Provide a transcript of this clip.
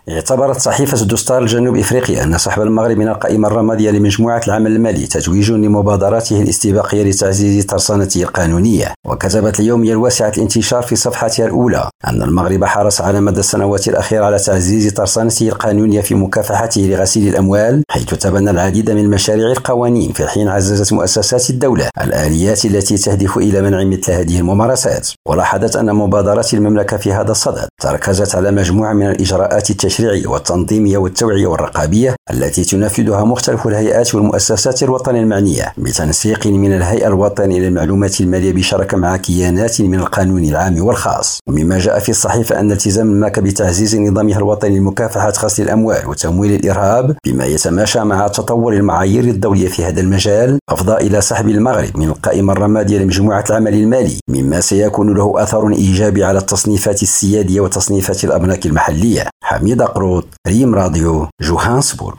اعتبرت صحيفة دستار الجنوب إفريقيا أن سحب المغرب من القائمة الرمادية لمجموعة العمل المالي تتويج لمبادراته الاستباقية لتعزيز ترسانته القانونية. وكتبت اليومية الواسعة الانتشار في صفحتها الأولى أن المغرب حرص على مدى السنوات الأخيرة على تعزيز ترسانته القانونية في مكافحته لغسيل الأموال، حيث تبنى العديد من مشاريع القوانين، في حين عززت مؤسسات الدولة الآليات التي تهدف إلى منع مثل هذه الممارسات. ولاحظت أن مبادرات المملكة في هذا الصدد تركزت على مجموعة من الإجراءات التشريعية والتنظيمية والتوعية والرقابية التي تنفذها مختلف الهيئات والمؤسسات الوطنية المعنية، بتنسيق من الهيئة الوطنية للمعلومات المالية بشراكة مع كيانات من القانون العام والخاص. ومما جاء في الصحيفة أن التزام المملكة بتعزيز نظامها الوطني لمكافحة غسيل الأموال وتمويل الإرهاب بما يتماشى مع تطور المعايير الدولية في هذا المجال أفضى إلى سحب المغرب من القائمة الرمادية لمجموعة العمل المالي، مما سيكون له أثر إيجابي على التصنيفات السيادية وتصنيفات الأبناك المحلية. حميد قروط، ريم راديو، جوهانسبورغ.